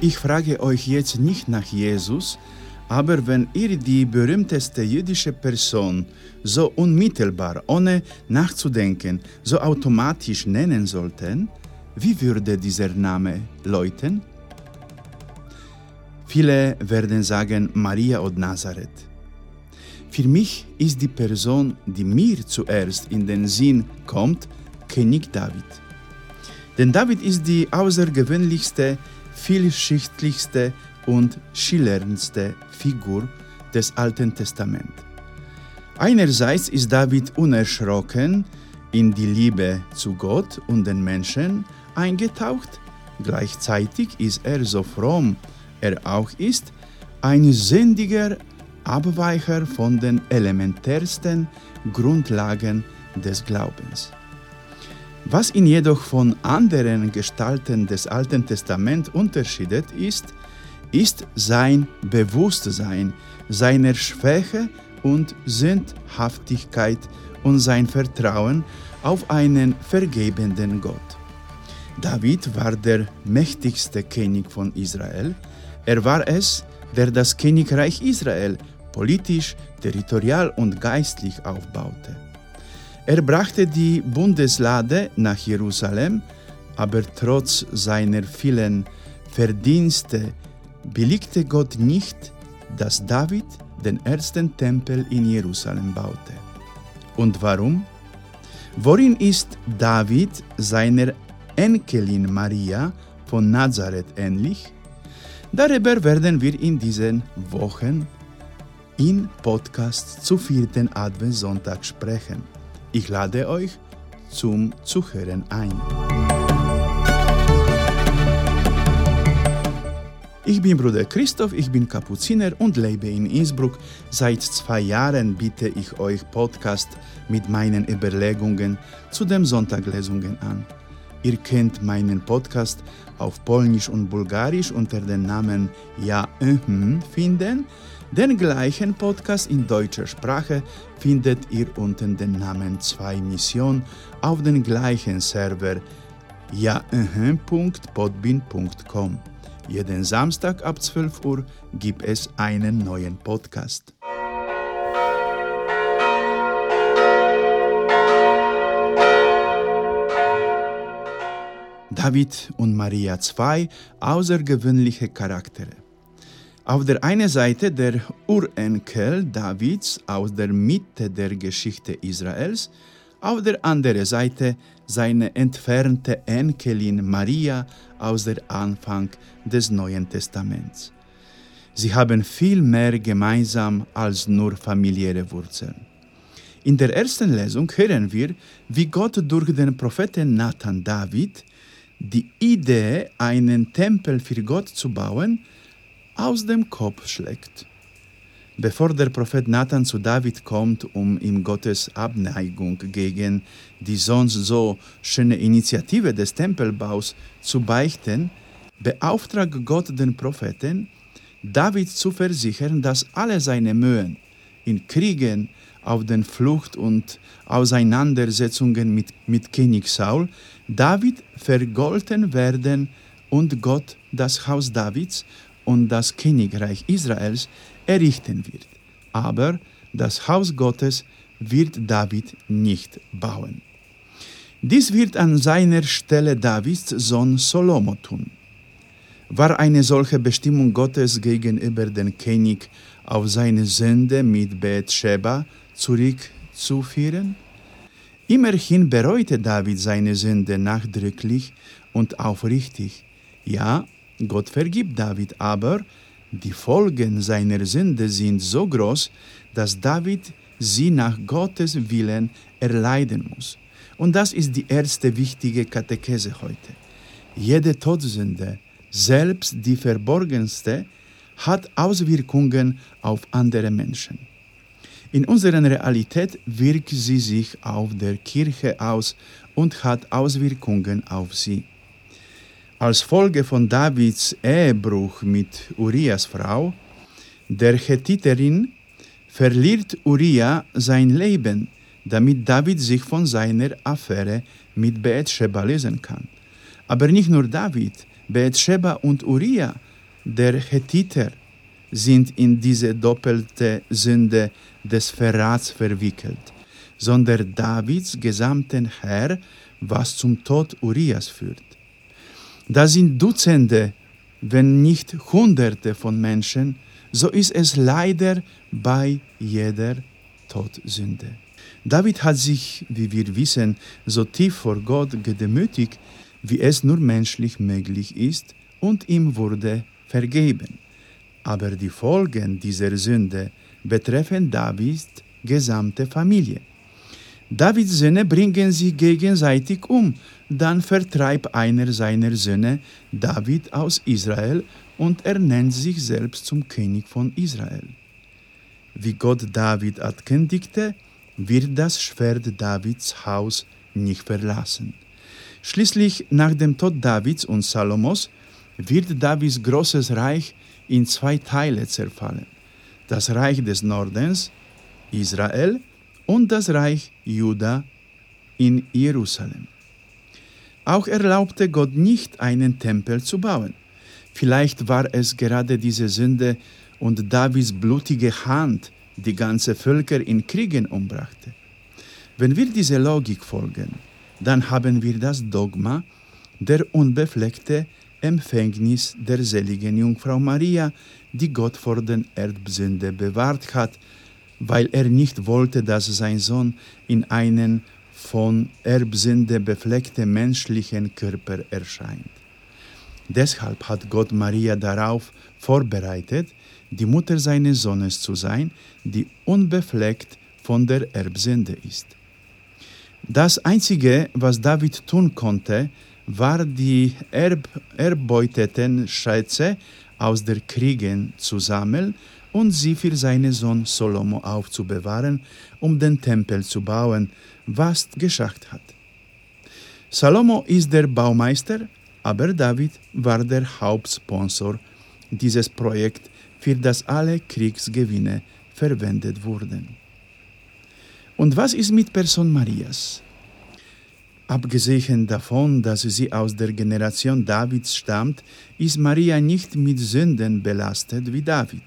Ich frage euch jetzt nicht nach Jesus, aber wenn ihr die berühmteste jüdische Person so unmittelbar, ohne nachzudenken, so automatisch nennen sollten, wie würde dieser Name läuten? Viele werden sagen Maria od Nazareth. Für mich ist die Person, die mir zuerst in den Sinn kommt, König David. Denn David ist die außergewöhnlichste, vielschichtlichste und schillerndste Figur des Alten Testaments. Einerseits ist David unerschrocken in die Liebe zu Gott und den Menschen eingetaucht, gleichzeitig ist er, so fromm er auch ist, ein sündiger Abweicher von den elementärsten Grundlagen des Glaubens. Was ihn jedoch von anderen Gestalten des Alten Testaments unterscheidet, ist sein Bewusstsein seiner Schwäche und Sündhaftigkeit und sein Vertrauen auf einen vergebenden Gott. David war der mächtigste König von Israel. Er war es, der das Königreich Israel politisch, territorial und geistlich aufbaute. Er brachte die Bundeslade nach Jerusalem, aber trotz seiner vielen Verdienste billigte Gott nicht, dass David den ersten Tempel in Jerusalem baute. Und warum? Worin ist David seiner Enkelin Maria von Nazareth ähnlich? Darüber werden wir in diesen Wochen im Podcast zu 4. Adventssonntag sprechen. Ich lade euch zum Zuhören ein. Ich bin Bruder Christoph, ich bin Kapuziner und lebe in Innsbruck. Seit 2 Jahren biete ich euch Podcast mit meinen Überlegungen zu den Sonntaglesungen an. Ihr könnt meinen Podcast auf Polnisch und Bulgarisch unter dem Namen Ja finden. Den gleichen Podcast in deutscher Sprache findet ihr unter dem Namen 2 Mission auf dem gleichen Server ja.podbean.com. Jeden Samstag ab 12 Uhr gibt es einen neuen Podcast. David und Maria, 2 außergewöhnliche Charaktere. Auf der einen Seite der Urenkel Davids aus der Mitte der Geschichte Israels, auf der anderen Seite seine entfernte Enkelin Maria aus dem Anfang des Neuen Testaments. Sie haben viel mehr gemeinsam als nur familiäre Wurzeln. In der ersten Lesung hören wir, wie Gott durch den Propheten Nathan David die Idee, einen Tempel für Gott zu bauen, aus dem Kopf schlägt. Bevor der Prophet Nathan zu David kommt, um ihm Gottes Abneigung gegen die sonst so schöne Initiative des Tempelbaus zu beichten, beauftragt Gott den Propheten, David zu versichern, dass alle seine Mühen in Kriegen, auf der Flucht und Auseinandersetzungen mit König Saul David vergolten werden und Gott das Haus Davids und das Königreich Israels errichten wird. Aber das Haus Gottes wird David nicht bauen. Dies wird an seiner Stelle Davids Sohn Salomo tun. War eine solche Bestimmung Gottes gegenüber dem König auf seine Sünde mit Bathscheba zurückzuführen? Immerhin bereute David seine Sünde nachdrücklich und aufrichtig. Ja, Gott vergibt David, aber die Folgen seiner Sünde sind so groß, dass David sie nach Gottes Willen erleiden muss. Und das ist die erste wichtige Katechese heute. Jede Todsünde, selbst die verborgenste, hat Auswirkungen auf andere Menschen. In unserer Realität wirkt sie sich auf der Kirche aus und hat Auswirkungen auf sie. Als Folge von Davids Ehebruch mit Urias Frau, der Hethiterin, verliert Uria sein Leben, damit David sich von seiner Affäre mit Bathscheba lösen kann. Aber nicht nur David, Bathscheba und Uria der Hethiter sind in diese doppelte Sünde des Verrats verwickelt, sondern Davids gesamten Heer, was zum Tod Urias führt. Da sind Dutzende, wenn nicht Hunderte von Menschen, so ist es leider bei jeder Todsünde. David hat sich, wie wir wissen, so tief vor Gott gedemütigt, wie es nur menschlich möglich ist, und ihm wurde vergeben. Aber die Folgen dieser Sünde betreffen Davids gesamte Familie. Davids Söhne bringen sich gegenseitig um, dann vertreibt einer seiner Söhne David aus Israel und er nennt sich selbst zum König von Israel. Wie Gott David ankündigte, wird das Schwert Davids Haus nicht verlassen. Schließlich, nach dem Tod Davids und Salomos, wird Davids großes Reich in 2 Teile zerfallen. Das Reich des Nordens, Israel, und das Reich Juda in Jerusalem. Auch erlaubte Gott nicht, einen Tempel zu bauen. Vielleicht war es gerade diese Sünde und Davids blutige Hand, die ganze Völker in Kriegen umbrachte. Wenn wir dieser Logik folgen, dann haben wir das Dogma der unbefleckten Empfängnis der seligen Jungfrau Maria, die Gott vor der Erbsünde bewahrt hat, weil er nicht wollte, dass sein Sohn in einen von Erbsünde befleckten menschlichen Körper erscheint. Deshalb hat Gott Maria darauf vorbereitet, die Mutter seines Sohnes zu sein, die unbefleckt von der Erbsünde ist. Das Einzige, was David tun konnte, war, die erbeuteten Schätze aus der Kriegen zu sammeln und sie für seinen Sohn Salomo aufzubewahren, um den Tempel zu bauen, was geschafft hat. Salomo ist der Baumeister, aber David war der Hauptsponsor dieses Projekts, für das alle Kriegsgewinne verwendet wurden. Und was ist mit Person Marias? Abgesehen davon, dass sie aus der Generation Davids stammt, ist Maria nicht mit Sünden belastet wie David.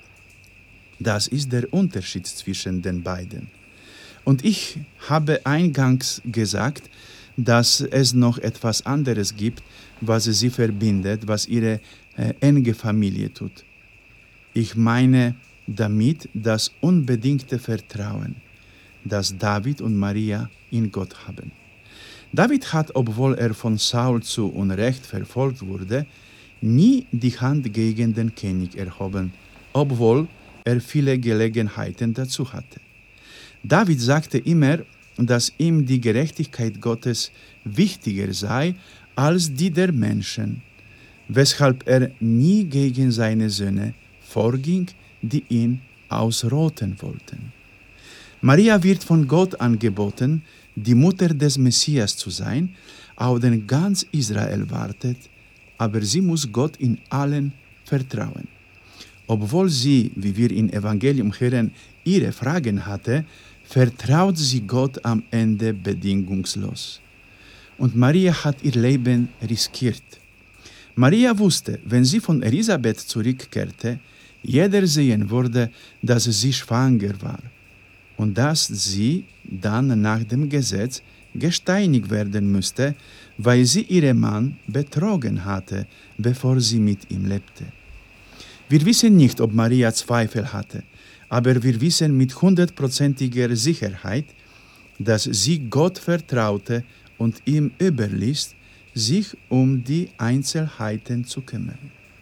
Das ist der Unterschied zwischen den beiden. Und ich habe eingangs gesagt, dass es noch etwas anderes gibt, was sie verbindet, was ihre enge Familie tut. Ich meine damit das unbedingte Vertrauen, das David und Maria in Gott haben. David hat, obwohl er von Saul zu Unrecht verfolgt wurde, nie die Hand gegen den König erhoben, obwohl er viele Gelegenheiten dazu hatte. David sagte immer, dass ihm die Gerechtigkeit Gottes wichtiger sei als die der Menschen, weshalb er nie gegen seine Söhne vorging, die ihn ausrotten wollten. Maria wird von Gott angeboten, die Mutter des Messias zu sein, auf den ganz Israel wartet, aber sie muss Gott in allen vertrauen. Obwohl sie, wie wir im Evangelium hören, ihre Fragen hatte, vertraut sie Gott am Ende bedingungslos. Und Maria hat ihr Leben riskiert. Maria wusste, wenn sie von Elisabeth zurückkehrte, jeder sehen würde, dass sie schwanger war und dass sie dann nach dem Gesetz gesteinigt werden müsste, weil sie ihren Mann betrogen hatte, bevor sie mit ihm lebte. Wir wissen nicht, ob Maria Zweifel hatte, aber wir wissen mit 100%iger Sicherheit, dass sie Gott vertraute und ihm überließ, sich um die Einzelheiten zu kümmern.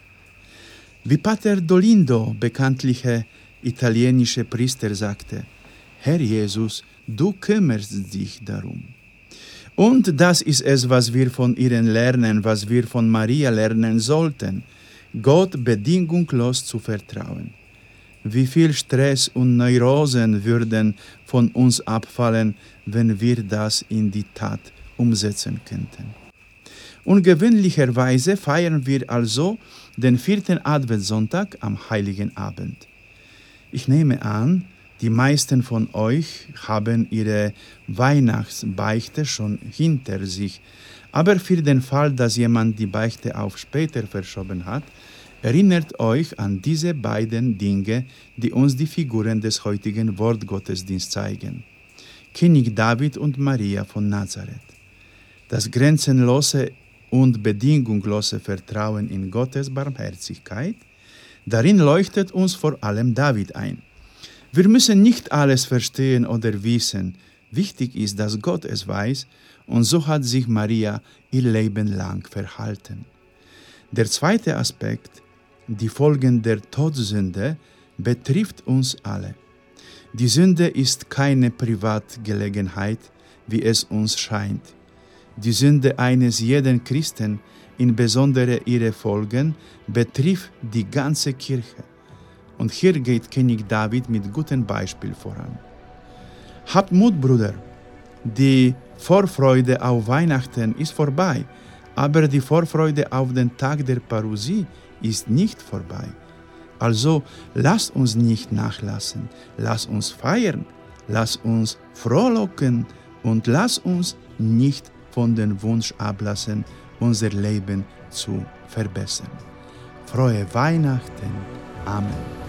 Wie Pater Dolindo, bekanntlicher italienischer Priester, sagte: Herr Jesus, du kümmerst dich darum. Und das ist es, was wir von ihr lernen, was wir von Maria lernen sollten, Gott bedingungslos zu vertrauen. Wie viel Stress und Neurosen würden von uns abfallen, wenn wir das in die Tat umsetzen könnten. Ungewöhnlicherweise feiern wir also den 4. Adventssonntag am Heiligen Abend. Ich nehme an, die meisten von euch haben ihre Weihnachtsbeichte schon hinter sich, aber für den Fall, dass jemand die Beichte auf später verschoben hat, Erinnert euch an diese beiden Dinge, die uns die Figuren des heutigen Wortgottesdienstes zeigen. König David und Maria von Nazareth. Das grenzenlose und bedingungslose Vertrauen in Gottes Barmherzigkeit, darin leuchtet uns vor allem David ein. Wir müssen nicht alles verstehen oder wissen. Wichtig ist, dass Gott es weiß, und so hat sich Maria ihr Leben lang verhalten. Der zweite Aspekt, die Folgen der Todsünde, betrifft uns alle. Die Sünde ist keine Privatgelegenheit, wie es uns scheint. Die Sünde eines jeden Christen, insbesondere ihre Folgen, betrifft die ganze Kirche. Und hier geht König David mit gutem Beispiel voran. Habt Mut, Brüder! Die Vorfreude auf Weihnachten ist vorbei, aber die Vorfreude auf den Tag der Parousie ist nicht vorbei. Also lasst uns nicht nachlassen, lasst uns feiern, lasst uns frohlocken und lasst uns nicht von dem Wunsch ablassen, unser Leben zu verbessern. Frohe Weihnachten. Amen.